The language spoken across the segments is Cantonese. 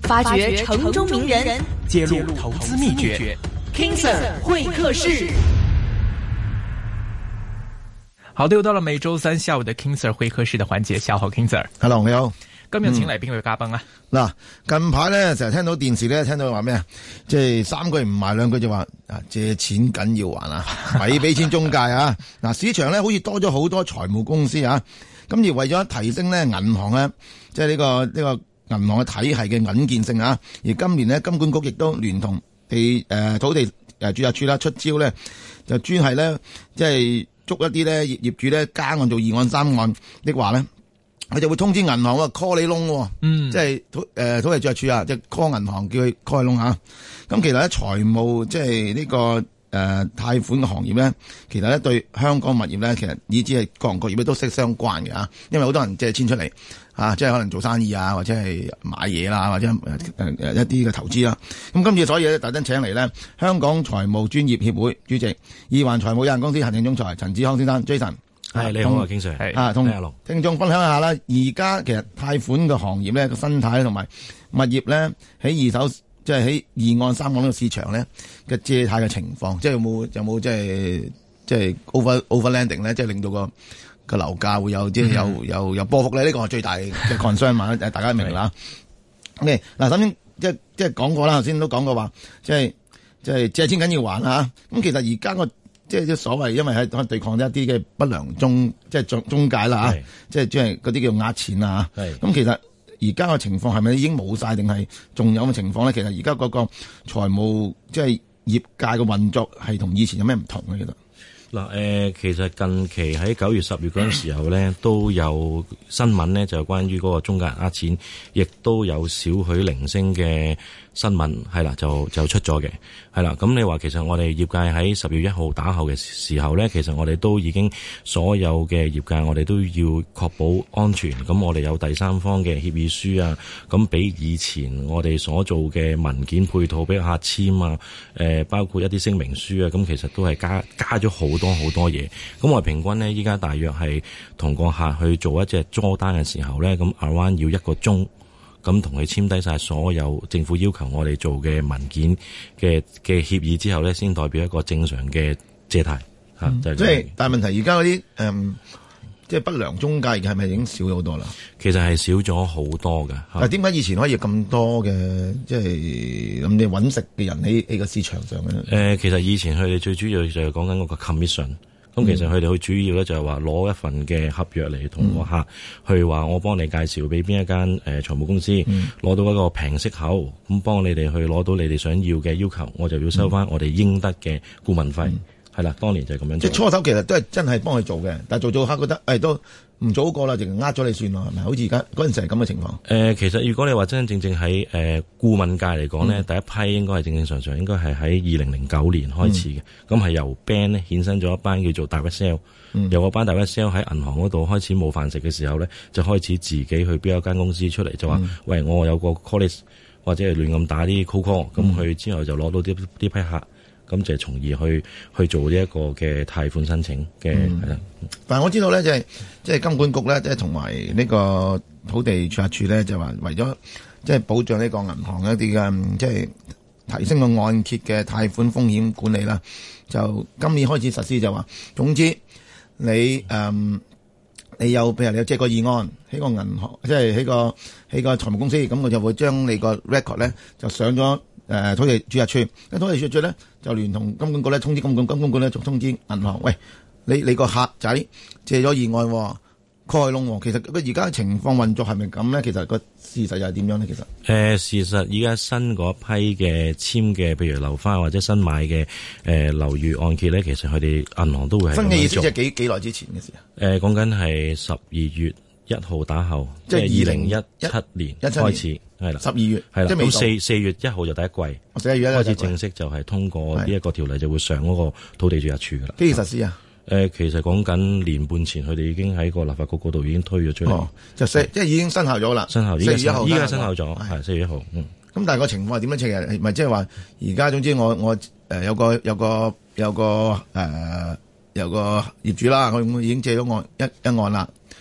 發掘城中名人， 揭露投資秘訣。King Sir 會客室。好的，又到了每周三下午的 King Sir 會客室的環節。下午好 King Sir。Hello， 你好。 今日請嚟邊位嘉賓啊？ 嗱，近排咧成日聽到電視咧，聽到話咩啊？即係3句唔埋2句就話啊，借錢緊要還啊，咪俾錢中介啊！嗱，市場咧好似多咗好多財務公司啊，咁而為咗提升咧銀行咧，即係呢個銀行嘅體系嘅穩健性啊，而今年咧金管局亦都聯同土地註冊處啦出招咧，就專係咧即係捉一啲咧業主咧加案做2案3案的話咧，佢就會通知銀行call 你窿，即係土地註冊處啊，即係 call 銀行叫佢 call 你窿啊。咁其實咧財務即係呢個貸款嘅行業咧，其實咧對香港物業咧，其實以至係各行各業咧都息息相關嘅啊。因為好多人借錢出嚟啊，即係可能做生意啊，或者係買嘢啦，或者一啲嘅投資啦。咁今次所以咧特登請嚟咧香港財務專業協會主席意環財務有限公司行政總裁陳志康先生 Jason。 係你好啊，King Sir。 係同聽眾分享一下啦。而家其實貸款嘅行業咧個生態同埋物業咧喺二手即係喺2案3案呢個市場咧嘅借貸嘅情況，即係有冇即係 overlanding 咧，即係令到個樓價會有即係有波幅咧？呢個係最大嘅 concern 嘛，大家明啦。OK， 嗱，首先即係講過啦，頭先都講過話，即係借錢緊要還啊。咁其實而家個即係所謂，因為喺對抗一啲嘅不良中介啦嚇，即係嗰啲叫呃錢啊嚇。咁其實而家嘅情況係咪已經冇晒，定係仲有嘅情況咧？其實而家嗰個財務即係業界嘅運作係同以前有咩唔同咧？其實嗱，其實近期喺9月10月嗰陣時候咧，都有新聞咧，就關於嗰個中介人呃錢，亦都有少許零星嘅新聞係啦，就出咗嘅係啦。咁你話其實我哋業界喺10月1號打後嘅時候咧，其實我哋都已經所有嘅業界，我哋都要確保安全。咁我哋有第三方嘅協議書啊，咁比以前我哋所做嘅文件配套俾客簽啊，包括一啲聲明書啊，咁其實都係加咗好多嘢。咁我哋平均咧，依家大約係同個客去做一隻租單嘅時候咧，咁 around 要1個鐘。咁同佢簽低晒所有政府要求我哋做嘅文件嘅協議之後咧，先代表一個正常嘅借貸嚇。即係， 但係問題而家嗰啲即係不良中介係咪已經少咗好多啦？ 其實係少咗好多㗎。 但點解以前可以有咁多嘅即係咁你揾食嘅人喺個市場上嘅？ 其實以前佢哋最主要就係講緊嗰個 commission。咁其實佢哋好主要咧就係話攞一份嘅合約嚟同個客去話我幫你介紹俾邊一間財務公司，攞到一個平息口，咁幫你哋去攞到你哋想要嘅要求，我就要收翻我哋應得嘅顧問費。係啦，當年就係咁樣做。 即係初手其實都係真係幫佢做嘅，但係做客覺得都唔做好過啦，淨係呃咗你算咯，係咪？好似而家嗰陣時係咁嘅情況。 其實如果你話真真正正喺顧問界嚟講咧，第一批應該係正正常常應該係喺2009年開始嘅，咁係由 band 咧衍生咗一班叫做 direct sale，由嗰班 direct sale 喺銀行嗰度開始冇飯食嘅時候咧，就開始自己去標一間公司出嚟，就話喂，我有個 call list 或者係亂咁打啲 cold call，咁佢之後就攞到啲批客。咁就係從而去做呢一個嘅貸款申請嘅係啦。 但係我知道咧，即係金管局咧，即係同埋呢個土地註冊處咧，就話為咗即係保障呢個銀行一啲嘅即係提升個按揭嘅貸款風險管理啦，就今年開始實施就話，總之你有譬如你有借過2案喺個銀行，即係喺個財務公司，咁我就會將你個 record 咧就上咗土地註冊處，土地註冊處咧就聯同金管局咧通知金管局咧就通知銀行，喂，你個客仔借咗2案蓋窿，其實佢而家情況運作係咪咁咧？其實個事實又係點樣咧？其實事實而家新嗰批嘅簽嘅，譬如樓花或者新買嘅樓宇按揭咧，其實佢哋銀行都會係新嘅意思，即係幾耐之前嘅事啊？ 講緊係12月1號打後，即係2017年開始。係啦 ，12月係啦，咁4月1號就第一季，4月1號開始正式就係通過呢一個條例就會上嗰個土地註冊處噶啦。 幾時實施啊？ 其實講緊年半前，佢哋已經喺個立法局嗰度已經推咗出嚟， 即係已經生效咗啦。 生效4月1號，依家生效咗，係4月1號。 咁但係個情況係點樣？係咪即係話而家總之我有個業主啦，佢已經借咗一案啦。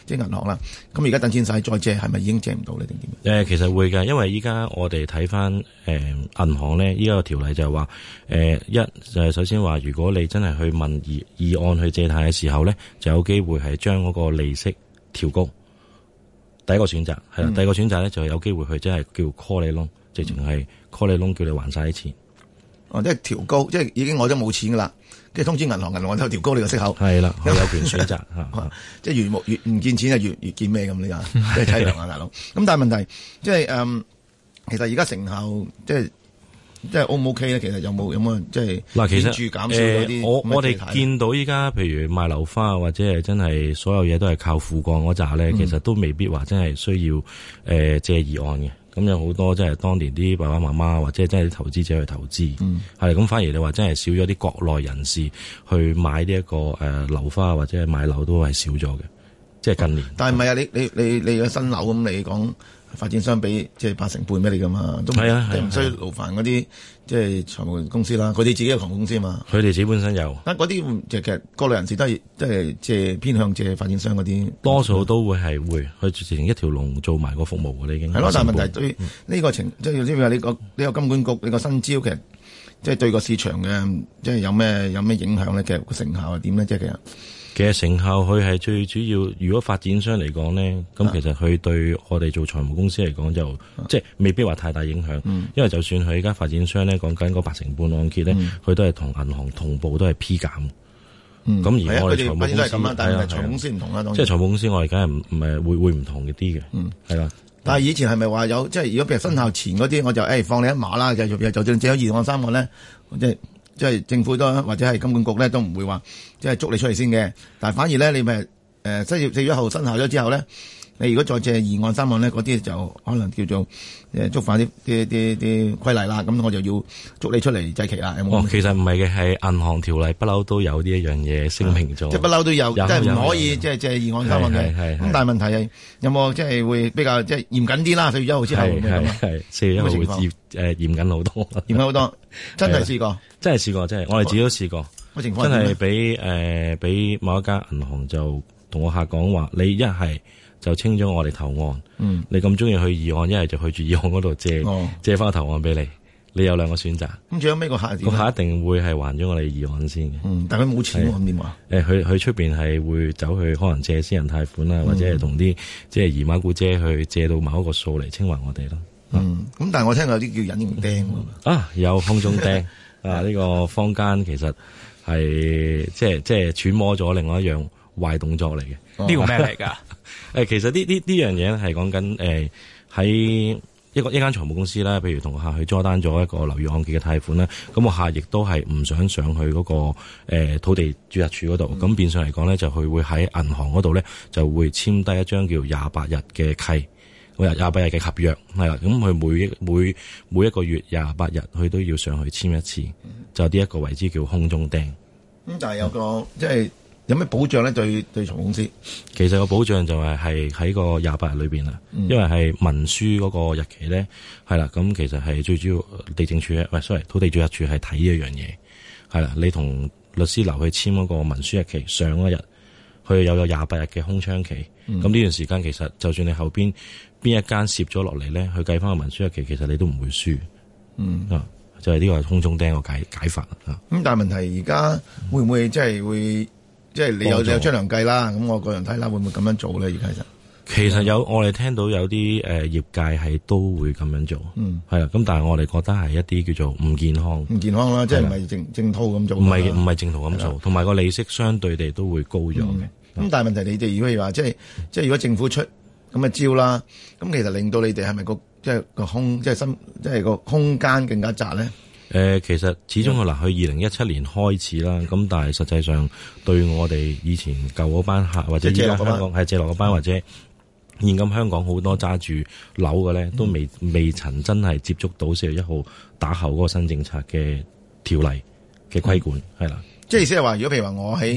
即係銀行啦。咁而家等錢使再借係咪已經借唔到咧定點？ 其實會㗎，因為依家我哋睇翻銀行咧，依家個條例就係話就係首先話，如果你真係去問議案去借貸嘅時候咧，就有機會係將嗰個利息調高。第一個選擇係啦，第二個選擇咧就有機會去真係叫 call 你窿，直情係 call 你窿，叫你還晒啲錢。 哦，即係調高，即係已經我都冇錢噶啦，跟住通知銀行就調高你個息口。 係啦，佢有權選擇嚇， 即係越唔見錢就越見咩咁呢？即係淒涼啊，大佬。咁但係問題即係其實而家成效即係 O 唔 OK 咧？其實有冇即係嗱，其實顯著減少嗰啲我哋見到依家譬如賣樓花或者係真係所有嘢都係靠父幹嗰扎咧，其實都未必話真係需要借議案嘅。咁有好多即係當年啲爸爸媽媽或者真係啲投資者去投資，係咁反而你話真係少咗啲國內人士去買呢一個樓花或者係買樓都係少咗嘅，即係近年。 但係唔係啊？你個新樓咁，你講發展商俾即係8成半俾你噶嘛？都係啊，唔需要勞煩嗰啲即係財務公司啦。佢哋自己有財務公司嘛？ 佢哋自己本身有。 但嗰啲其實國內人士都係即係借偏向借發展商嗰啲， 多數都會係會去直情一條龍做埋個服務嘅。你已經係咯。但係問題對呢個情即係話你個金管局你個新招其實即係對個市場嘅即係有咩影響咧？其實個成效係點咧？即係其實成效佢係最主要，如果發展商嚟講咧，咁其實佢對我哋做財務公司嚟講就即係未必話太大影響，因為就算佢而家發展商咧講緊嗰8成半按揭咧，佢都係同銀行同步都係 P 減。咁而我哋財務公司但係財務公司唔同啦， 即係財務公司我哋梗係唔係會唔同啲嘅，係啦。 但係以前係咪話有即係如果譬如生效前嗰啲，我就放你一馬啦，就算借咗2按3按咧，即係政府都或者係金管局咧都唔會話即係捉你出嚟先嘅，但係反而咧你咪4月1號生效咗之後咧，你如果再借2按3按咧，嗰啲就可能叫做觸犯啲規例啦，咁我就要捉你出嚟祭旗啦。有冇？ 其實唔係嘅，係銀行條例不嬲都有呢一樣嘢聲明咗， 即係不嬲都有，即係唔可以即係借2按3按嘅。咁但係問題係有冇即係會比較即係嚴謹啲啦？4月1號之後係4月1號會嚴謹好多， 嚴謹好多，真係試過， 真係試過，真係我哋自己都試過。真係俾某一間銀行就同我客講話，你一係就清咗我哋投案，你咁中意去二案，一係就去住二案嗰度借翻個投案俾你，你有2個選擇。 咁最後尾個客一定會係還咗我哋二案先嘅。 但佢冇錢喎，咁點話？ 佢出邊係會走去可能借私人貸款啦，或者係同啲即係姨媽姑姐去借到某一個數嚟清還我哋咯。 咁但係我聽有啲叫隱形釘有空中釘呢個坊間其實係即係揣摩咗另外一樣壞動作嚟嘅。 呢個咩嚟噶？ 其實呢樣嘢係講緊喺一間財務公司啦，譬如同個客去 draw down咗一個樓宇按揭嘅貸款啦，咁個客亦都係唔想上去嗰個土地註冊處嗰度，咁變相嚟講咧就佢會喺銀行嗰度咧就會簽低一張叫28日嘅契，28日嘅合約係啦，咁佢每一個月28日佢都要上去簽一次，就呢一個為之叫空中釘。 咁但係有個即係。有咩保障咧？對財務公司， 其實個保障就係喺個28日裏邊啦，因為係文書嗰個日期咧係啦，咁其實係最主要地政處土地註冊處係睇呢一樣嘢係啦，你同律師樓去簽嗰個文書日期上一日，佢有28日嘅空窗期，咁呢段時間其實就算你後邊一間攝咗落嚟咧，去計翻個文書日期，其實你都唔會輸，就係呢個空中釘個解法啊。咁但係問題而家會唔會即係會？即係你有張良計啦，咁我個人睇啦，會唔會咁樣做咧？而家其實我哋聽到有啲業界係都會咁樣做，係啦。咁但係我哋覺得係一啲叫做唔健康啦，即係唔係正套咁做， 唔係正套咁做，同埋個利息相對地都會高咗嘅。 咁但係問題你哋如果話即係如果政府出咁嘅招啦，咁其實令到你哋係咪即係個空間更加窄咧？ 其實始終佢去2017年開始啦，咁但係實際上對我哋以前舊嗰班客或者依家香港係借落嗰班或者現今香港好多揸住樓嘅咧，都未曾真係接觸到4月1號打後嗰個新政策嘅條例嘅規管係啦。 即係意思係話，如果譬如話我喺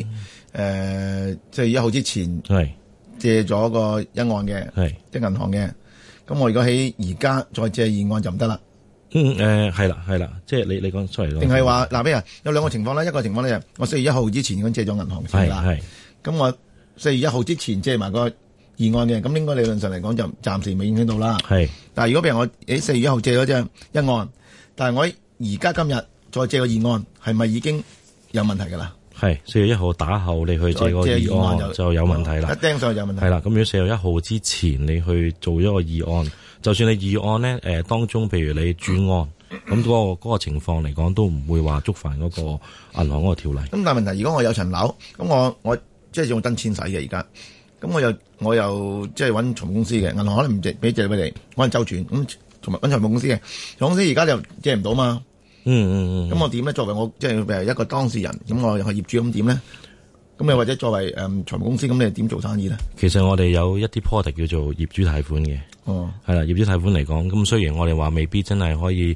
4月1號之前借咗個1按嘅，即係銀行嘅，咁我如果喺而家再借2按就唔得啦。 係啦，即係你講出嚟咯。 定係話嗱，譬如有2個情況啦，一個情況咧，我4月1號之前已經借咗銀行先啦。咁我4月1號之前借埋個議案嘅，咁應該理論上嚟講就暫時未影響到啦。 係， 但係如果譬如我喺4月1號借咗隻一案，但係我而家今日再借個議案，係咪已經有問題㗎啦？ 係4月1號打後，你去借個議案就有問題啦。 一釘上去有問題。 係啦，咁如果4月1號之前你去做咗個議案，就算你議案咧當中，譬如你轉案，咁嗰個情況嚟講，都唔會話觸犯嗰個銀行嗰個條例。 咁但係問題，如果我有層樓，咁我即係用真錢使嘅而家，咁我又即係揾財務公司嘅，銀行可能唔借俾你，可能周轉，咁同埋揾財務公司嘅，財務公司而家就借唔到嘛。咁我點咧？作為我即係譬如一個當事人，咁我係業主，咁點咧？咁又或者作為財務公司，咁你點做生意咧？ 其實我哋有一啲 product 叫做業主貸款嘅。係啦，業主貸款嚟講，咁雖然我哋話未必真係可以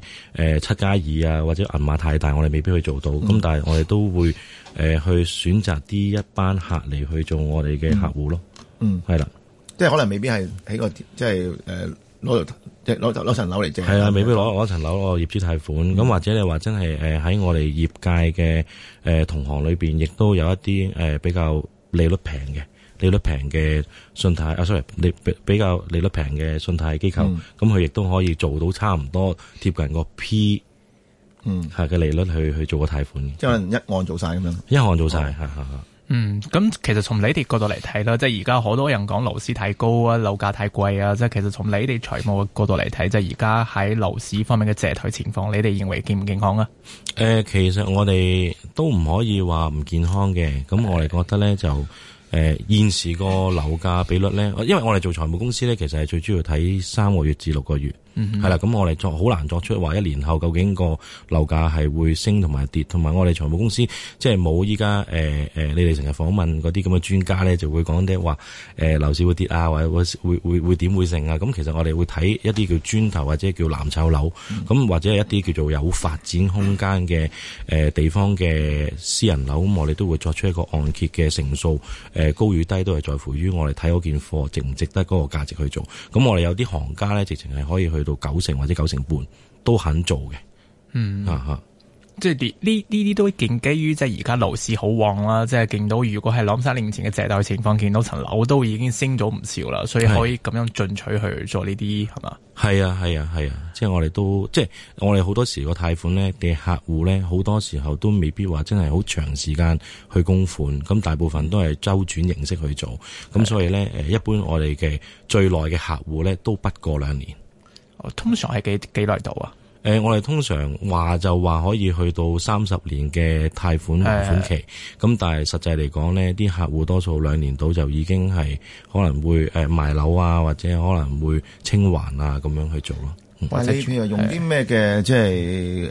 7+2啊，或者銀碼太大，我哋未必去做到。咁但係我哋都會去選擇啲一班客嚟去做我哋嘅客戶咯。係啦， 即係可能未必係喺個即係攞層樓嚟借。 係啊，未必攞層樓攞業主貸款。咁或者你話真係喺我哋業界嘅同行裏邊，亦都有一啲比較利率平嘅信貸，sorry， 比較利率平嘅信貸機構，咁佢亦都可以做到差唔多貼近個 P， 係嘅利率去做個貸款。 即係可能一案做晒咁樣。 一案做晒，係。 咁其實從你哋角度嚟睇啦，即係而家好多人講樓市太高啊，樓價太貴啊，即係其實從你哋財務嘅角度嚟睇，即係而家喺樓市方面嘅借貸情況，你哋認為健唔健康啊？ 其實我哋都唔可以話唔健康嘅，咁我哋覺得咧就。現時個樓價比率咧，因為我哋做財務公司咧，其實係最主要睇3個月至6個月，係啦。咁我哋好難作出話1年後究竟個樓價係會升同埋跌，同埋我哋財務公司即係冇依家你哋成日訪問嗰啲咁嘅專家咧，就會講啲話樓市會跌啊，或者會點會升啊。咁其實我哋會睇一啲叫磚頭或者叫藍籌樓，咁或者係一啲叫做有發展空間嘅地方嘅私人樓，咁我哋都會作出一個按揭嘅成數。高與低都係在乎於我哋睇嗰件貨值唔值得嗰個價值去做。咁我哋有啲行家咧，直情係可以去到90%或者9.5%都肯做嘅。 即係呢啲都建基於即係而家樓市好旺啦，即係見到如果係2-3年前嘅借貸情況，見到層樓都已經升咗唔少啦，所以可以咁樣進取去做呢啲係嘛？係啊，即係我哋都即係我哋好多時個貸款咧嘅客戶咧，好多時候都未必話真係好長時間去供款，咁大部分都係周轉形式去做，咁所以咧一般我哋嘅最耐嘅客戶咧都不過2年。 通常係幾耐度啊？ 我哋通常話可以去到30年嘅貸款還款期，咁但係實際嚟講呢，啲客戶多數2年到就已經係可能會賣樓啊，或者可能會清還啊咁樣去做咯。 或者你譬如用啲咩嘅即係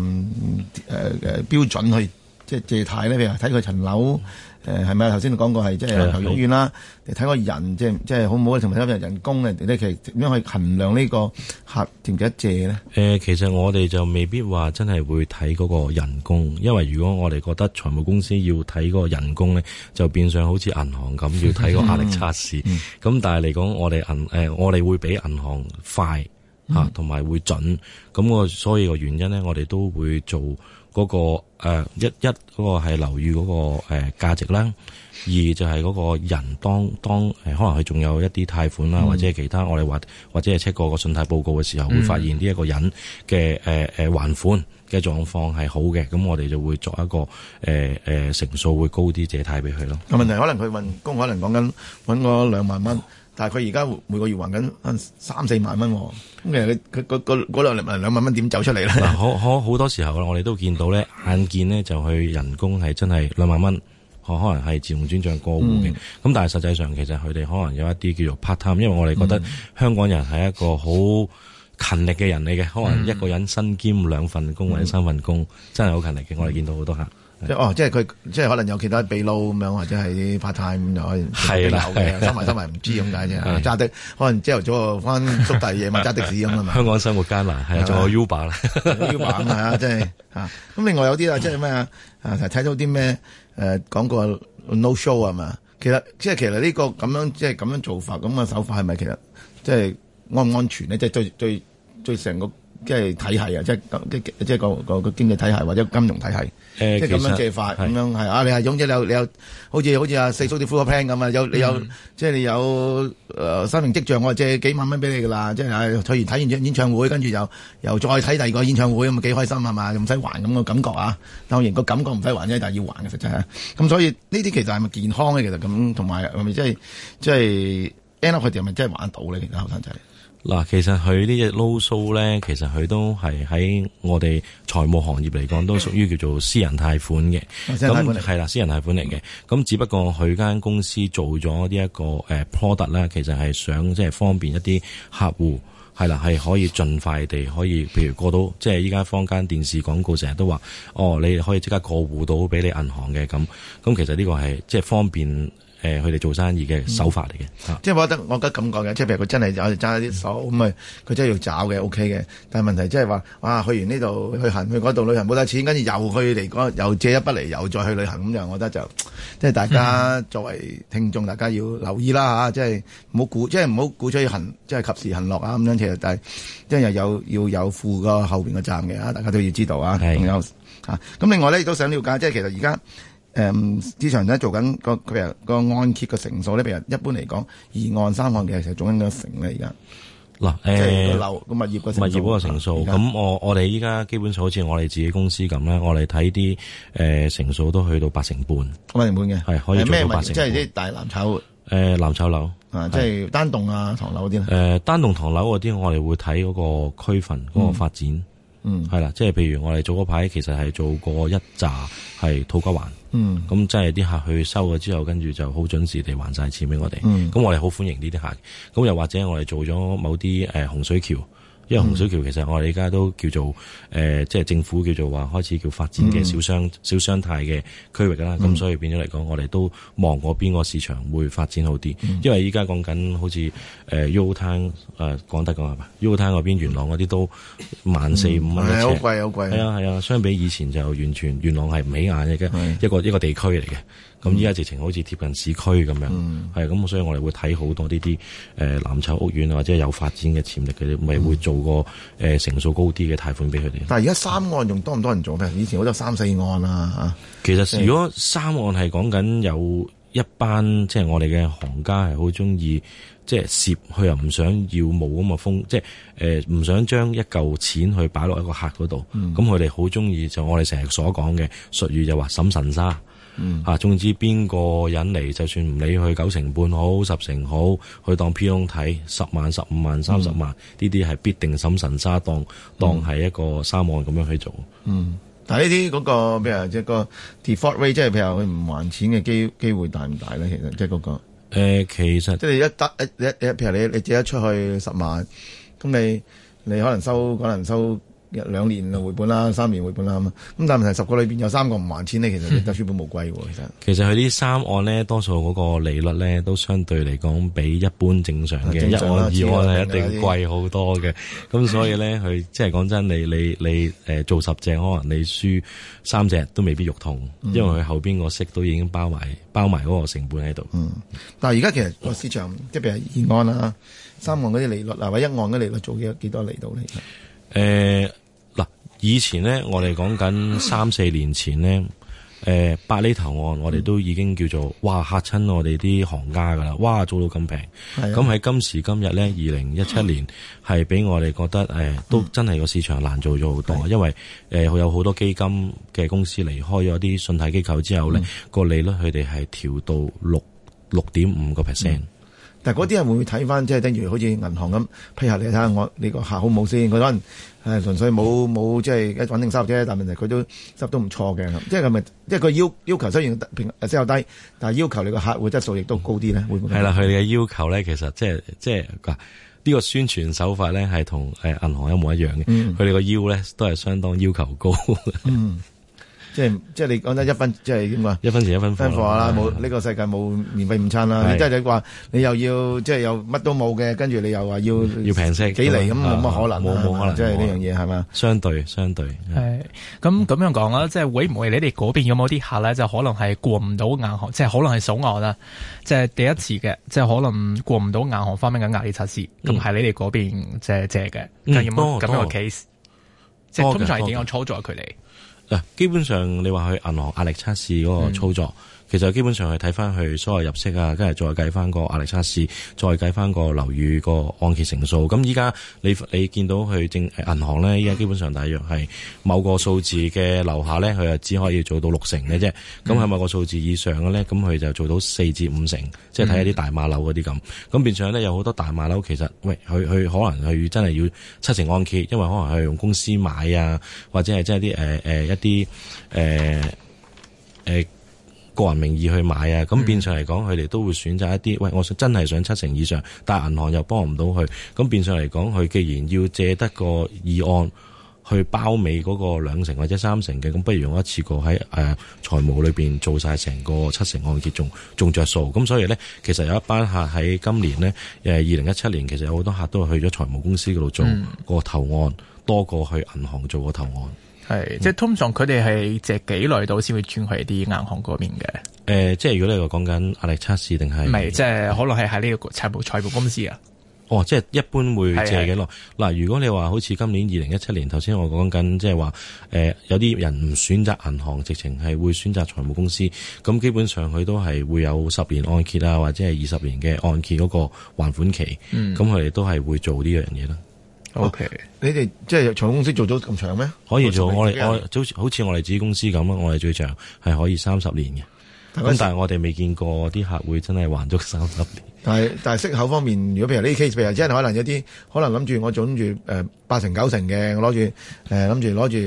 標準去即係借貸咧？譬如睇佢層樓係咪頭先你講過係即係環球屋苑啦？你睇個人即係好唔好？同埋睇人工咧，其實點樣去衡量呢個客值唔值得借咧？ 其實我哋就未必話真係會睇嗰個人工，因為如果我哋覺得財務公司要睇嗰個人工咧，就變相好似銀行咁要睇個壓力測試。咁但係嚟講，我哋會比銀行快同埋會準。咁所以個原因咧，我哋都會做嗰個一嗰個係樓宇嗰個價值啦。二就係嗰個人當可能佢仲有一啲貸款啦，或者係其他我哋或者係 check 過個信貸報告嘅時候，會發現呢一個人嘅還款嘅狀況係好嘅，咁我哋就會作一個成數會高啲借貸俾佢咯。 個問題可能佢運工可能講緊揾嗰2萬蚊，但係佢而家每個月還緊3-4萬蚊，咁其實佢嗰2萬蚊點走出嚟咧？ 嗱，好多時候我哋都見到咧，眼見咧就佢人工係真係2萬蚊。可能係自動轉賬過戶嘅，咁但係實際上其實佢哋可能有一啲叫做 part time，因為我哋覺得香港人係一個好勤力嘅人嚟嘅，可能一個人身兼2份工或者3份工，真係好勤力嘅。我哋見到好多客。 即係佢即係可能有其他秘撈咁樣，或者係 part time 咁就可以係啦嘅，收埋唔知咁解啫。揸的可能朝頭早翻縮大夜晚揸的士咁啊嘛。 香港生活艱難，係仲有 Uber 啦 ，Uber 咁啊，即係咁另外有啲即係咩啊？睇到啲咩講過 no show 係嘛？其實呢個咁樣即係咁樣做法咁嘅手法係咪其實即係安唔安全咧？即係最成個即係體系啊，即係個經濟體系或者金融體系，即係咁樣借法咁樣係啊！你係總之你有好似阿四叔啲 full plan 咁啊，你有即係你有生命跡象，我借幾萬蚊俾你噶啦，即係睇完演唱會，跟住又再睇第二個演唱會咁啊，幾開心係嘛？唔使還咁個感覺啊！當然個感覺唔使還啫，但係要還嘅實際係。咁所以呢啲其實係咪健康咧？其實咁同埋係咪即係 end up 佢哋係咪真係玩得到咧？其實後生仔。 嗱，其實佢呢隻 low show 咧，其實佢都係喺我哋財務行業嚟講，都屬於叫做私人貸款嘅。咁係啦，私人貸款嚟嘅。咁只不過佢間公司做咗呢一個product 啦，其實係想即係方便一啲客戶，係啦，係可以盡快地可以，譬如過到即係依家坊間電視廣告成日都話，你可以即刻過戶到俾你銀行嘅咁。咁其實呢個係即係方便。佢哋做生意嘅手法嚟嘅， 即係我覺得咁講嘅，即係譬如佢真係有揸啲手咁佢真係要找嘅 OK 嘅。但係問題即係話，哇，去完呢度去行去嗰度旅行冇得錢，跟住又去嚟嗰又借一筆嚟，又再去旅行咁樣，我覺得就即係大家作為聽眾，大家要留意啦嚇，即係唔好鼓吹即係及時行樂啊咁樣。其實但係即係又要有負個後邊個站嘅，大家都要知道啊。仲有咁另外咧亦都想了解，即係其實而家。市場咧做緊譬如個按揭嘅成數咧，譬如一般嚟講，2按3按嘅其實總應該成咧而家。嗱，即係個樓個物業嗰個成數。咁我哋依家基本上好似我哋自己公司咁咧，我哋睇啲成數都去到8成半。8成半嘅係可以做到8成半。即係啲大藍籌藍籌樓即係單棟啊唐樓嗰啲咧。單棟唐樓嗰啲我哋會睇嗰個區份嗰個發展。係啦，即係譬如我哋做嗰排其實係做過一紮係土瓜灣。咁即係啲客去收咗之後，跟住就好準時地還晒錢俾我哋。咁我哋好歡迎呢啲客。咁又或者我哋做咗某啲洪水橋，因為洪水橋其實我哋而家都叫做即係政府叫做話開始叫發展嘅小商態嘅區域啦。咁所以變咗嚟講，我哋都望嗰邊個市場會發展好啲。因為依家講緊好似Yoho Town 講得講係嘛，Yoho Town嗰邊元朗嗰啲都14,500蚊一尺， 好貴好貴。 係啊，相比以前就完全元朗係唔起眼嘅一個地區嚟嘅。咁依家直情好似貼近市區咁樣，係咁，所以我哋會睇好多呢啲藍籌屋苑或者有發展嘅潛力嘅，咪會做個成數高啲嘅貸款俾佢哋。 但係而家3按仲多唔多人做咧？以前好多3、4按啊嚇。 其實如果3按係講緊有一班即係我哋嘅行家係好中意即係攝，佢又唔想要冇咁嘅風，即係唔想將一嚿錢去擺落一個客嗰度。咁佢哋好中意就我哋成日所講嘅術語就話審慎沙。總之邊個人嚟，就算唔理佢9成半好10成好，去當 P 窿睇10萬、15萬、30萬，呢啲係必定審慎沙，當係一個3按咁樣去做。 但係呢啲嗰個譬如即係個 default rate，即係譬如佢唔還錢嘅機會大唔大咧？其實即係嗰個其實即係譬如你借得出去10萬，咁你可能收2年回本啦，3年回本啦咁。咁但係問題10個裏邊有3個唔還錢咧，其實你得血本無歸喎。 其實佢啲3按咧，多數嗰個利率咧都相對嚟講比一般正常嘅1按2按係一定貴好多嘅。咁所以咧，佢即係講真，你做10隻，可能你輸3隻都未必肉痛，因為佢後邊個息都已經包埋嗰個成本喺度。 但係而家其實個市場即係譬如2按啦、3按嗰啲利率啊，或者1按嗰啲利率做幾多嚟到咧？ 以前咧，我哋講緊3、4年前咧，8厘頭按，我哋都已經叫做哇嚇親我哋啲行家噶啦，哇做到咁平。咁喺今時今日咧，2017年係俾我哋覺得都真係個市場難做咗好多，因為有好多基金嘅公司離開咗啲信貸機構之後咧，個利率佢哋係調到6.5%。 但係嗰啲人會唔會睇翻，即係等於好似銀行咁批下你睇下你個客好冇先？佢可能純粹冇即係一穩定收入啫，但係問題佢都收入都唔錯嘅。即係係咪即係佢要求雖然息口低，但係要求你個客戶質素亦都高啲咧？會唔會？係啦，佢哋嘅要求咧，其實即係呢個宣傳手法咧係同銀行一模一樣嘅。佢哋個要咧都係相當要求高。即係你講得1分，即係點啊？1分錢1分貨啦，冇呢個世界冇免費午餐啦。即係你話你又要即係又乜都冇嘅，跟住你又話要平息幾厘咁，冇乜可能， 冇可能， 即係呢樣嘢係嘛？ 相對係咁樣講啦，即係會唔會你哋嗰邊有冇啲客咧，就可能係過唔到銀行，即係可能係首按啦，即係第一次嘅，即係可能過唔到銀行方面嘅壓力測試，咁係你哋嗰邊即係借嘅，有冇咁樣嘅 case？ 即係通常係點樣操作佢哋？ 嗱，基本上你話去銀行壓力測試嗰個操作。其實基本上係睇翻佢所有入息啊，跟住再計翻個壓力測試，再計翻個樓宇個按揭成數。咁依家你見到佢銀行咧，依家基本上大約係某個數字嘅樓下咧，佢就只可以做到60%嘅啫。咁喺某個數字以上嘅咧，咁佢就做到4至5成，即係睇一啲大碼樓嗰啲咁。咁變相咧有好多大碼樓，其實佢可能佢真係要7成按揭，因為可能係用公司買啊，或者係即係啲個人名義去買啊，咁變相嚟講，佢哋都會選擇一啲，我真係想7成以上，但係銀行又幫唔到佢，咁變相嚟講，佢既然要借得個議案去包尾嗰個2成或者3成嘅，咁不如用一次過喺財務裏邊做晒成個7成按揭，仲着數。咁所以咧，其實有一班客喺今年咧，2017年其實有好多客都係去咗財務公司嗰度做個投案，多過去銀行做個投案。 係，即係通常佢哋係借幾耐到先會轉去啲銀行嗰邊嘅？ 即係如果你話講緊壓力測試定係？唔係， 即係可能係喺呢個財務公司啊。 哦，即係一般會借幾耐？嗱，如果你話好似今年2017年，頭先我講緊，即係話有啲人唔選擇銀行，直情係會選擇財務公司。咁基本上佢都係會有10年按揭啊，或者係20年嘅按揭嗰個還款期。咁佢哋都係會做呢樣嘢啦。 OK，你哋即係財務公司做咗咁長咩？ 可以做，我好似我哋自己公司咁啊，我哋最長係可以30年嘅。咁但係我哋未見過啲客會真係還足30年。 但係息口方面，如果譬如呢啲 case，譬如真係可能有啲可能諗住我做諗住8成9成嘅，我攞住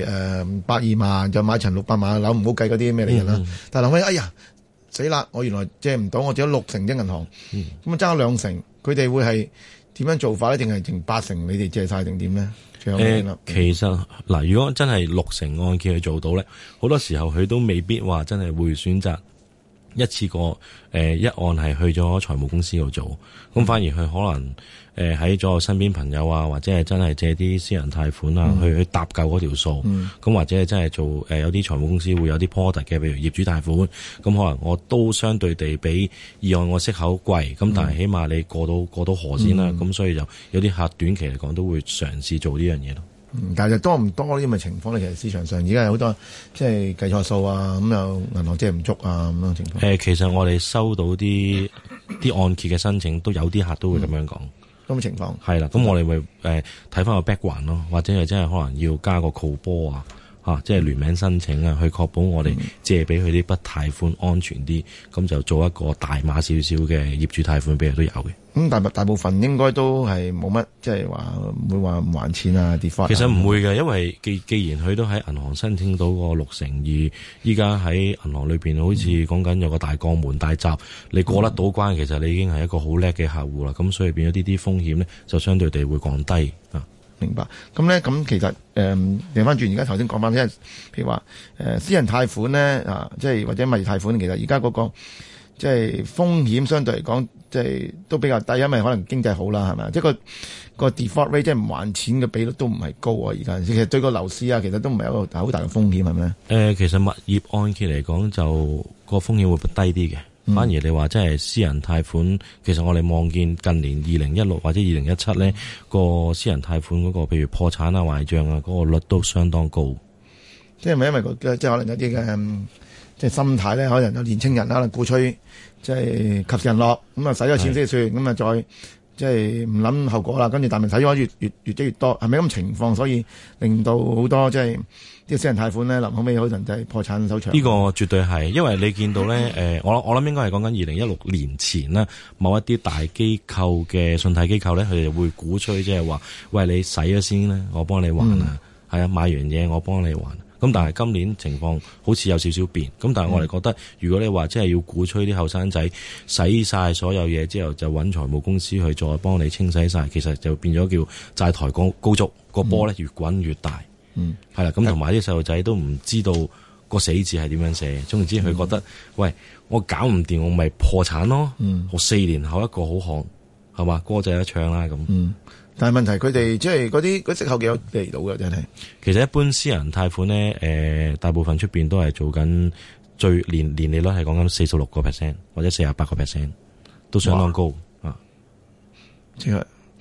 120萬就買層600萬嘅樓，唔好計嗰啲咩利潤啦。但係諗起哎呀死啦，我原來借唔到，我借咗6成啫銀行，咁啊爭咗2成，佢哋會係點樣做法咧？定係剩8成你哋借晒定點咧？ 其實嗱，如果真係6成按揭去做到咧，好多時候佢都未必話真係會選擇一次過一按係去咗財務公司度做，咁反而佢可能喺咗身邊朋友啊，或者係真係借啲私人貸款啊，去搭夠嗰條數，咁或者係真係做有啲財務公司會有啲 product 嘅，譬如業主貸款，咁可能我都相對地比議案我息口貴，咁但係起碼你過到河先啦，咁所以就有啲客短期嚟講都會嘗試做呢樣嘢咯。 但係多唔多呢啲咁嘅情況咧？其實市場上而家有好多即係計錯數啊，咁又銀行借唔足啊咁樣情況。 其實我哋收到啲按揭嘅申請，都有啲客都會咁樣講。 咁嘅情況係啦，咁我哋會睇翻個 background 咯，或者係真係可能要加個 co-bor 啊，即係聯名申請啊，去確保我哋借俾佢啲筆貸款安全啲，咁就做一個大碼少少嘅業主貸款俾佢都有嘅。 咁大部分應該都係冇乜，即係話唔會話唔還錢啊 default。其實唔會嘅，因為既然佢都喺銀行申請到個6成，而依家喺銀行裏邊好似講緊有個大鋼門大閘，你過得到關，其實你已經係一個好叻嘅客戶啦。咁所以變咗啲風險咧，就相對地會降低啊。 明白。咁其實調翻轉，而家頭先講翻，即係譬如話私人貸款咧啊，即係或者物業貸款，其實而家嗰個即係風險相對嚟講，即係都比較低，因為可能經濟好啦，係咪？即係個 default rate 即係唔還錢嘅比率都唔係高啊！而家其實對個樓市啊，其實都唔係一個好大嘅風險，係咪？ 其實物業按揭嚟講，就個風險會低啲嘅。反而你話即係私人貸款，其實我哋望見近年2016或者2017咧，個私人貸款嗰個，譬如破產啊、壞賬啊，嗰個率都相當高。 即係咪因為即係可能有啲嘅即係心態咧？可能有年青人可能鼓吹即係及時行樂，咁啊使咗錢先算，咁啊再即係唔諗後果啦。跟住但係使咗越積越多，係咪咁情況？所以令到好多即係啲私人貸款咧，臨後尾可能就係破產收場。呢個絕對係，因為你見到咧，我諗應該係講緊2016年前啦，某一啲大機構嘅信貸機構咧，佢哋會鼓吹即係話，喂，你使咗先啦，我幫你還啊，係啊，買完嘢我幫你還。咁但係今年情況好似有少少變，咁但係我哋覺得，如果你話真係要鼓吹啲後生仔使晒所有嘢之後，就揾財務公司去再幫你清洗晒，其實就變咗叫債台高築，個波咧越滾越大。係啦，咁同埋啲細路仔都唔知道個死字係點樣寫，總之佢覺得，喂，我搞唔掂，我咪破產咯。我4年後一個好行，係嘛，歌仔一唱啦咁。 但係問題佢哋即係嗰息口幾多嚟到嘅真係？ 其實一般私人貸款咧，大部分出邊都係做緊年利率係講緊46% 或者48%，都相當高啊。 即係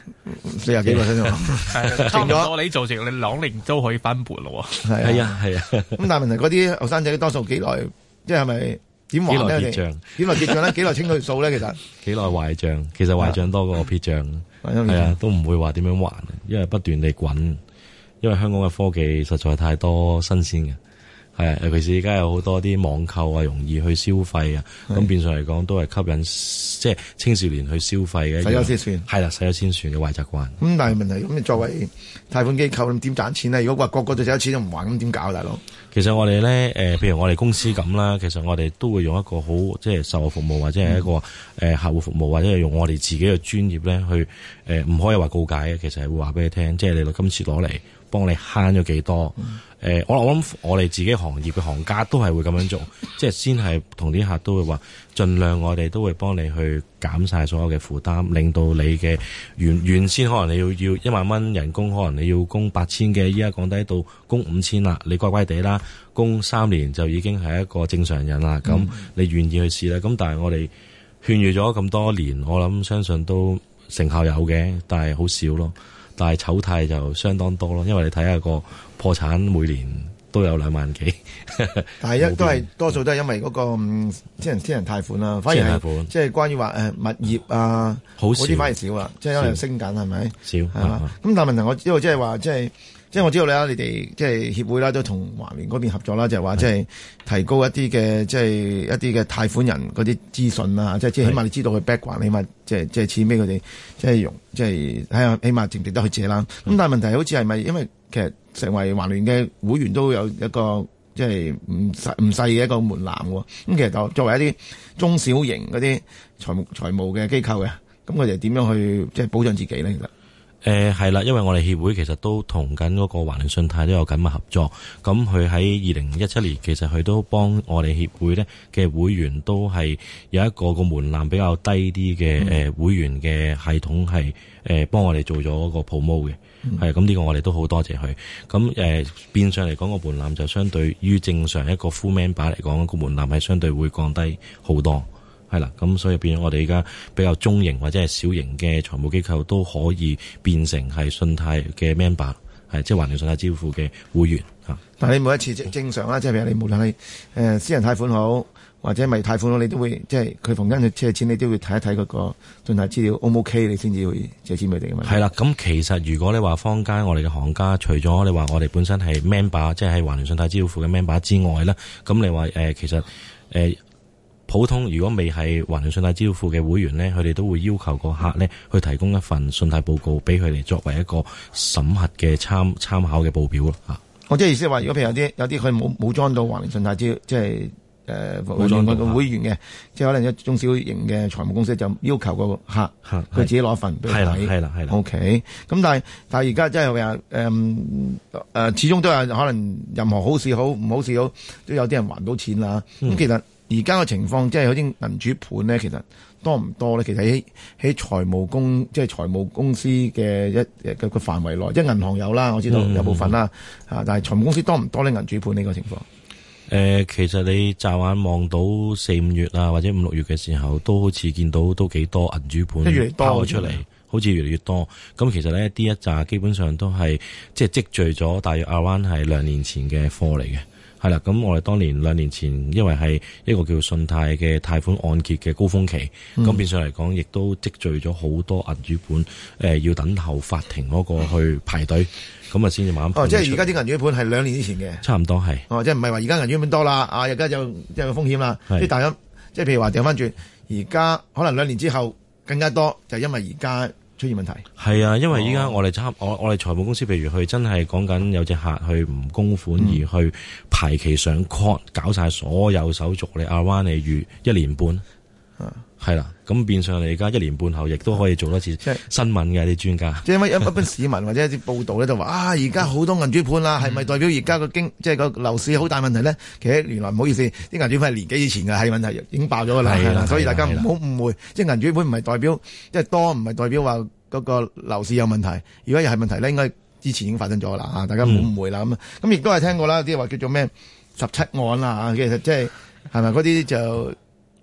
40幾個先喎， 差唔多你做成你2年都可以翻本咯。 係啊。 咁但係問題嗰啲後生仔多數幾耐，即係咪點還咧？ 幾耐結賬？ 幾耐結賬咧？幾耐清佢數咧？其實幾耐壞賬？其實壞賬多過撇賬。係啊，都唔會話點樣還，因為不斷地滾。因為香港嘅科技實在太多新鮮嘅。係啊，尤其是而家有好多啲網購啊，容易去消費啊，咁變相嚟講都係吸引即係青少年去消費嘅。 使咗先算， 係啦，使咗先算嘅壞習慣。 咁但係問題咁，你作為貸款機構，咁點賺錢咧？如果話個個都使咗錢都唔還，咁點搞，大佬？ 其實我哋咧，譬如我哋公司咁啦，其實我哋都會用一個好即係售後服務或者係一個客戶服務，或者係用我哋自己嘅專業咧去唔可以話告解嘅，其實係會話俾你聽，即係你今次攞嚟幫你慳咗幾多。我諗我哋自己行業嘅行家都係會咁樣做，即係先係同啲客都會話，盡量我哋都會幫你去減晒所有嘅負擔，令到你嘅原先可能你要1萬蚊人工，可能你要供8000嘅，依家降低到供5000啦，你乖乖地啦，供3年就已經係一個正常人啦，咁你願意去試啦。咁但係我哋勸喻咗咁多年，我諗相信都成效有嘅，但係好少咯。但係醜態就相當多咯，因為你睇下個破產每年都有2萬幾， 但係都係多數都係因為嗰個私人貸款啦，反而係即係關於話物業啊，嗰啲反而少啦，即係因為升緊係咪？少係嘛？咁但係問題我知道即係話即係我知道你哋即係協會啦，都同華聯嗰邊合作啦，就係話即係提高一啲嘅即係一啲嘅貸款人嗰啲資訊啊，即係起碼你知道佢 background，起碼即係錢俾佢哋即係用，即係睇下起碼值唔值得去借啦。咁但係問題好似係咪因為其實成為華聯嘅會員都有一個即係唔細嘅一個門檻喎。咁其實就作為一啲中小型嗰啲財務嘅機構嘅，咁佢哋點樣去即係保障自己咧？其實？ 係啦，因為我哋協會其實都同緊嗰個華聯信貸都有緊密合作，咁佢喺2017年其實佢都幫我哋協會咧嘅會員都係有一個門檻比較低啲嘅會員嘅系統係幫我哋做咗個 promo 嘅，係咁呢個我哋都好多謝佢。咁變相嚟講個門檻就相對於正常一個 full member 嚟講個門檻係相對會降低好多。係啦，咁所以變咗我哋而家比較中型或者係小型嘅財務機構都可以變成係信貸嘅 member， 係即係華聯信貸支付嘅會員嚇。 但係你每一次正常啦，即係譬如你無論係私人貸款好，或者咪貸款好，你都會即係佢逢親去借錢，你都會睇一睇嗰個信貸資料 O 唔 OK，你先至會借錢俾你嘅嘛。係啦，咁其實如果你話坊間我哋嘅行家，除咗你話我哋本身係 member， 即係喺華聯信貸支付嘅 member 之外啦，咁你話其實普通如果未係華聯信貸支付嘅會員咧，佢哋都會要求個客咧去提供一份信貸報告俾佢哋作為一個審核嘅參考嘅報表咯嚇。 我即係意思係話，如果譬如有啲佢冇裝到華聯信貸即係冇裝到會員嘅，即係可能一中小型嘅財務公司就要求個客佢自己攞份俾佢睇。係啦。OK， 咁但係而家即係話始終都有可能任何好事好唔好事好，都有啲人還到錢啦。咁其實而家嘅情況即係好似銀主盤咧，其實多唔多咧？其實喺財務公司嘅一個範圍內，即係銀行有啦，我知道有部分啦，但係財務公司多唔多咧？銀主盤呢個情況？ 其實你驟眼望到4-5月啊，或者5-6月嘅時候，都好似見到都幾多銀主盤拋出嚟，好似越嚟越多。咁其實咧，呢一紮基本上都係即係積聚咗大約around係2年前嘅貨嚟嘅。係啦，咁我哋當年2年前，因為係一個叫信貸嘅貸款按揭嘅高峰期，咁變相嚟講，亦都積聚咗好多銀主盤，要等候法庭嗰個去排隊，咁啊先至慢慢。 即係而家啲銀主盤係2年之前嘅， 差唔多係。 即係唔係話而家銀主盤多啦，而家就即係有風險啦。即係大家，即係譬如話掉翻轉，而家可能2年之後更加多，就係因為而家出現問題。 係啊，因為依家我哋財務公司，譬如佢真係講緊有隻客去唔供款而去排期上 court， 搞晒所有手續，你阿灣你預1年半，係啦，咁變相你而家1年半後亦都可以做多次新聞嘅啲專家。 即係因為一般市民或者一啲報道咧就話而家好多銀主盤啦，係咪代表而家個即係個樓市好大問題咧？其實原來唔好意思，啲銀主盤係年幾以前嘅係問題，已經爆咗㗎啦，所以大家唔好誤會，即係銀主盤唔係代表即係多，唔係代表話嗰個樓市有問題。如果又係問題咧，應該之前已經發生咗啦，大家唔好誤會啦。咁亦都係聽過啦，啲話叫做咩17案啦，其實即係咪嗰啲就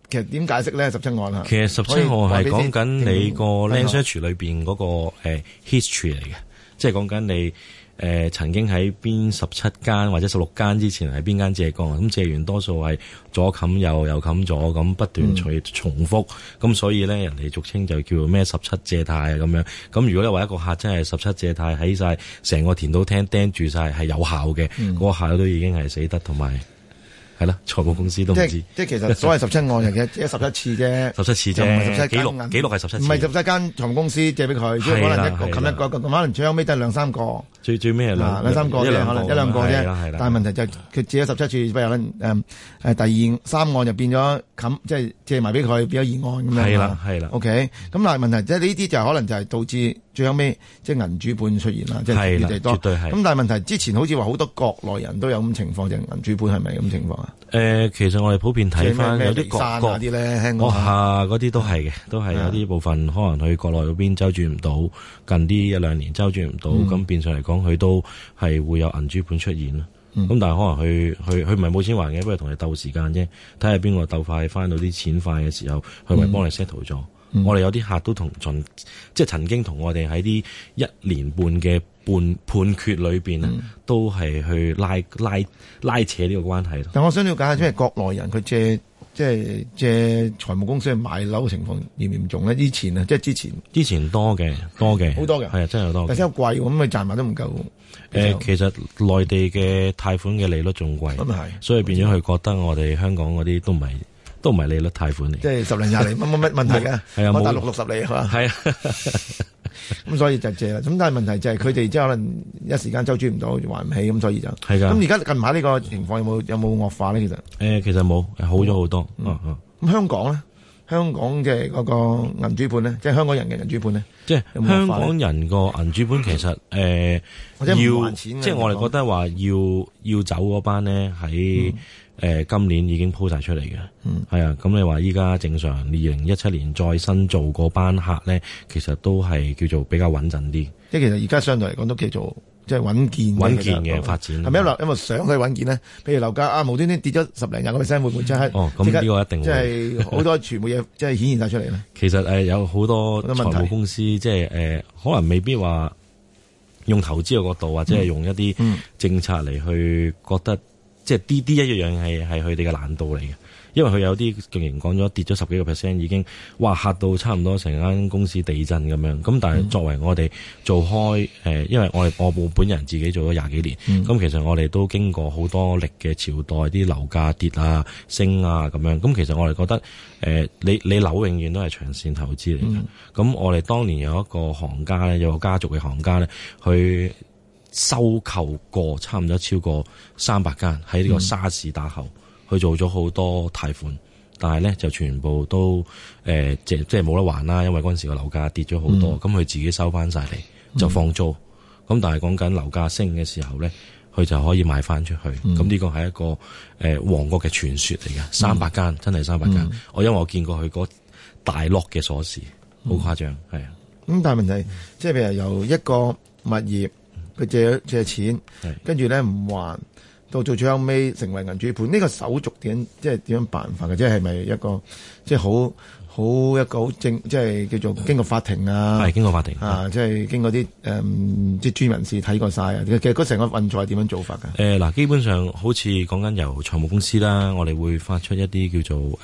其實點解釋咧？17案啊， 其實17案係講緊你個 Land Search 裏邊嗰個history 嚟嘅，即係講緊你曾經喺邊17間或者16間之前係邊間借過，咁借完多數係左冚右，右冚左，咁不斷重複，咁所以咧人哋俗稱就叫做咩17借貸啊咁樣。咁如果你話一個客真係17借貸喺晒成個田土廳釘住晒係有效嘅，嗰個客都已經係死得，同埋係啦，財務公司都唔知。即係其實所謂17案嘅，只係11次啫 ，17次啫，唔係17記錄係17次， 唔係17間財務公司借俾佢，即係可能冚一個，可能最後尾都係2、3個。最尾係兩三個啫，可能1、2個啫。但係問題就係佢借咗17次，譬如第2、3案就變咗即係借埋俾佢，變咗2案咁樣。 係啦。 OK，咁但係問題即係呢啲就可能就係導致最後尾即係銀主盤出現啦，即係越嚟越多。 絕對係。 咁但係問題之前好似話好多國內人都有咁情況，就銀主盤係咪咁情況啊？ 其實我哋普遍睇翻有啲國啲咧， 嗰啲都係嘅，都係有啲部分可能去國內嗰邊周轉唔到，近啲1-2年周轉唔到，咁變相嚟講佢都係會有銀主盤出現咯。咁但係可能佢唔係冇錢還嘅，不過同你鬥時間啫，睇下邊個鬥快翻到啲錢快嘅時候，佢咪幫你 settle 咗。我哋有啲客都即係曾經同我哋喺啲1年半嘅判決裏邊都係去拉扯呢個關係。 但我想了解下，即係國內人佢借財務公司去買樓嘅情況嚴唔嚴重咧？之前多嘅，好多嘅， 係啊，真係好多。 但係真係貴，咁佢賺埋都唔夠。 其實內地嘅貸款嘅利率仲貴，所以變咗佢覺得我哋香港嗰啲都唔係利率貸款嚟， 即係10厘20厘乜問題嘅。係啊，冇大陸60厘係嘛？ 係啊， 咁所以就借啦。咁但係問題就係佢哋即係可能一時間周轉唔到，還唔起，咁所以就係㗎。 咁而家近排呢個情況有冇惡化咧？其實其實冇，好咗好多。 咁香港咧？香港嘅嗰個銀主盤咧，即係香港人嘅銀主盤咧， 即係香港人個銀主盤其實要，即係我哋覺得話要走嗰班咧喺今年已經鋪晒出嚟嘅，係啊。咁你話依家正常2017年再新做嗰班客咧，其實都係叫做比較穩陣啲。 即係其實而家相對嚟講都叫做即係穩健嘅發展。 係咪因為想去穩健咧？譬如樓價無端端跌咗10零20%，會唔會即係？ 咁呢個一定會。 即係好多全部嘢即係顯現晒出嚟咧。 其實有好多財務公司即係可能未必話用投資嘅角度，或者係用一啲政策嚟去覺得。即係啲一樣係佢哋嘅難度嚟嘅，因為佢有啲竟然講咗跌咗10幾個%，已經哇嚇到差唔多成間公司地震咁樣。咁但係作為我哋做開因為我本人自己做咗20幾年，咁其實我哋都經過好多歷嘅朝代，啲樓價跌啊升啊咁樣。咁其實我哋覺得你樓永遠都係長線投資嚟嘅。咁我哋當年有一個行家咧，有個家族嘅行家咧，佢收購過差唔多超過300間，喺呢個沙士打後，去做咗好多貸款，但係咧就全部都即係冇得還啦，因為嗰陣時個樓價跌咗好多，咁佢自己收翻晒嚟就放租，咁但係講緊樓價升嘅時候咧，佢就可以賣翻出去，咁呢個係一個王國嘅傳說嚟嘅，300間真係300間，因為我見過佢嗰大 lock 嘅鎖匙，好誇張，係啊。 咁但係問題即係譬如由一個物業。佢借錢，跟住咧唔還，到最後尾成為銀主盤，呢個手續點樣辦法嘅？即係咪一個即係好一個好正，即係叫做經過法庭啊？ 係經過法庭啊，即係經過啲即係專業人士睇過晒啊！其實嗰成個運作係點樣做法㗎？ 嗱，基本上好似講緊由財務公司啦，我哋會發出一啲叫做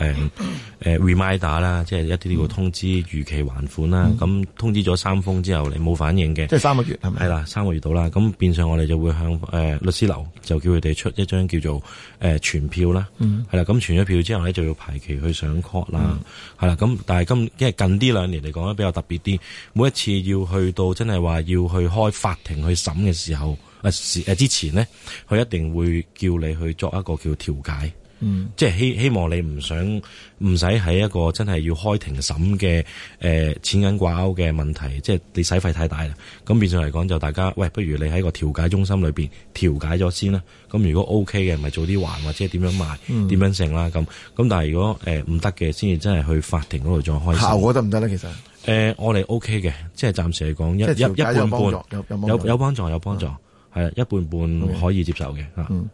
reminder 啦，即係一啲叫通知逾期還款啦。咁通知咗3封之後，你冇反應嘅， 即係3個月係咪？ 係啦，3個月到啦。咁變相我哋就會向律師樓就叫佢哋出一張叫做傳票啦。係啦，咁傳咗票之後咧，就要排期去上 court 啦。係啦。咁但係因為近呢2年嚟講咧比較特別啲，每一次要去到真係話要去開法庭去審嘅時候，之前呢，佢一定會叫你去作一個叫調解，即係希望你唔使喺一個真係要開庭審嘅錢銀掛鈎嘅問題，即係你使費太大啦。咁變相嚟講就大家喂，不如你喺個調解中心裏邊調解咗先啦。咁如果 OK 嘅，咪做啲還或者點樣賣，點樣成啦咁。咁但係如果唔得嘅，先至真係去法庭嗰度再開。效果得唔得咧？其實我哋 OK 嘅，即係暫時嚟講一半半有幫助，係一半半可以接受嘅嚇。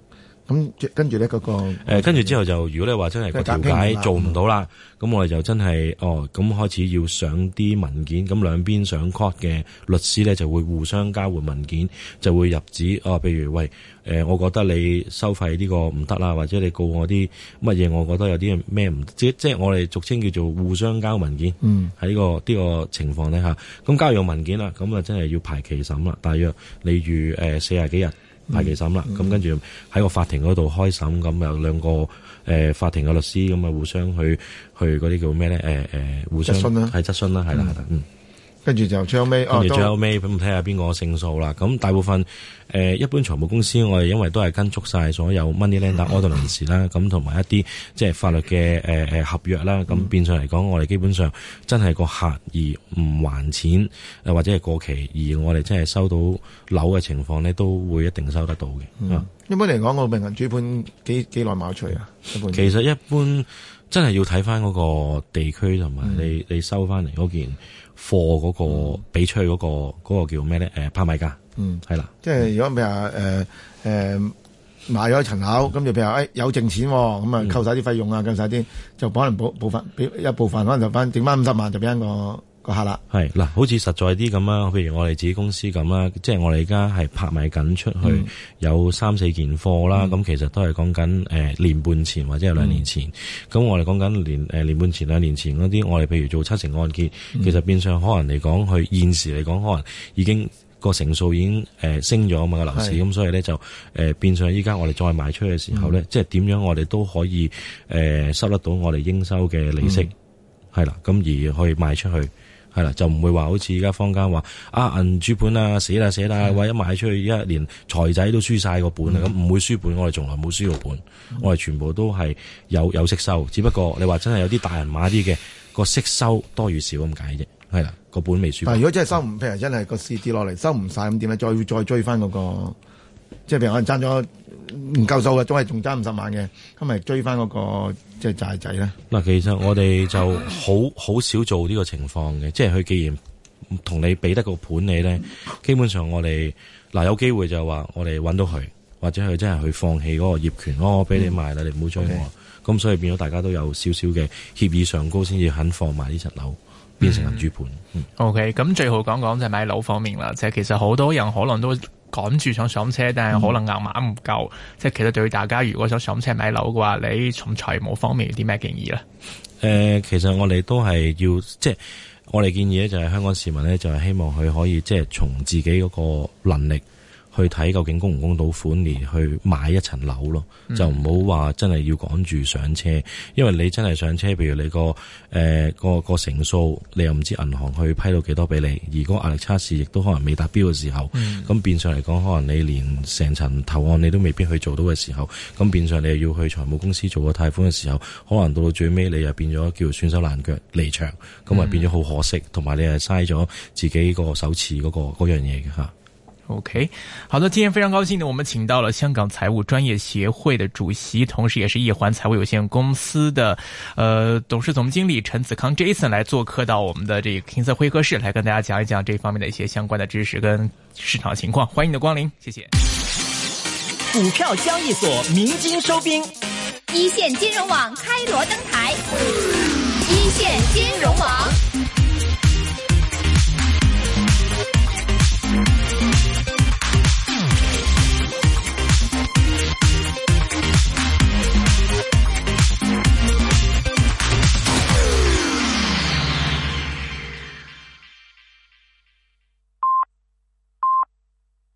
咁跟住咧嗰個跟住之後就如果你話真係個調解做唔到啦，咁我哋就真係咁開始要上啲文件，咁兩邊上 court 嘅律師咧就會互相交換文件，就會入紙譬如喂我覺得你收費呢個唔得啦，或者你告我啲乜嘢，我覺得有啲咩唔即係我哋俗稱叫做互相交文件。喺呢個情況底下，咁交完文件啦，咁啊真係要排期審啦，大約你預40幾日排期審啦，咁跟住喺個法庭嗰度開審，咁有兩個法庭嘅律師咁啊互相去嗰啲叫咩咧？互相係質詢啦，係啦， 跟住就最後尾， 跟住最後尾咁睇下邊個勝訴啦。咁大部分一般財務公司我哋因為都係跟足晒所有 money lender ordinance 啦，咁同埋一啲即係法律嘅合約啦。咁變相嚟講，我哋基本上真係個客而唔還錢或者係過期，而我哋真係收到樓嘅情況咧，都會一定收得到嘅。 一般嚟講，個命銀主盤幾耐賣出啊？ 其實一般真係要睇翻嗰個地區同埋你收翻嚟嗰件貨嗰個俾出去嗰個叫咩咧？拍賣價，係啦。即係如果譬如話買咗一層樓，咁就譬如話有剩錢，咁啊扣晒啲費用啊，扣晒啲，就可能部分俾一部分，可能就剩翻50萬就俾翻個客啦。係嗱，好似實在啲咁啦，譬如我哋自己公司咁啦，即係我哋而家係拍賣緊出去有3-4件貨啦，咁其實都係講緊年半前或者係2年前。咁我哋講緊年半前2年前嗰啲，我哋譬如做7成按揭，其實變相可能嚟講，佢現時嚟講可能已經個成數已經升咗啊嘛個樓市，咁所以咧就變相依家我哋再賣出去嘅時候咧，即係點樣我哋都可以收得到我哋應收嘅利息，係啦，咁而去賣出去。係啦，就唔會話好似而家坊間話銀主盤啊死啦，或者賣出去一年財仔都輸晒個本啊，咁唔會輸本，我哋從來冇輸過本，我哋全部都係有息收，只不過你話真係有啲大人馬啲嘅個息收多與少咁解啫，係啦，個本未輸。但係如果真係收唔，譬如真係個市跌落嚟收唔晒咁點咧？再追翻嗰個，即係譬如可能爭咗唔夠數嘅，總係仲爭50萬嘅，咁咪追翻嗰個即係債仔咧。嗱，其實我哋就好少做呢個情況嘅，即係佢既然同你俾得個盤你咧，基本上我哋有機會就話我哋揾到佢，或者佢真係去放棄嗰個業權，我俾你賣啦，你唔好追我。咁所以變咗大家都有少少嘅協議上高，先至肯放埋呢層樓變成銀主盤。 OK， 咁最後講講就係買樓方面啦，即係其實好多人可能都趕住想上車，但係可能銀碼唔夠。即係其實對於大家如果想上車買樓嘅話，你從財務方面有啲咩建議咧？ 其實我哋都係要即係我哋建議咧，就係香港市民咧，就係希望佢可以即係從自己嗰個能力去睇究竟供唔供到款而去買一層樓咯，就唔好話真係要趕住上車，因為你真係上車，譬如你個成數，你又唔知銀行去批到幾多俾你，而嗰個壓力測試亦都可能未達標嘅時候，咁變相嚟講，可能你連成層投案你都未必去做到嘅時候，咁變相你又要去財務公司做個貸款嘅時候，可能到最尾你又變咗叫損手爛腳離場，咁啊變咗好可惜，同埋你係嘥咗自己個首次嗰樣嘢嘅吓。 OK， 好的，今天非常高興呢，我們請到了香港財務專業協會的主席，同時也是易環財務有限公司的董事總經理陳子康 Jason 來做客到我們的這個King Sir會客室，來跟大家講一講這方面的一些相關的知識跟市場情況。歡迎你的光臨，謝謝。 股票交易所鳴金收兵，一線金融網開鑼登台，一線金融網。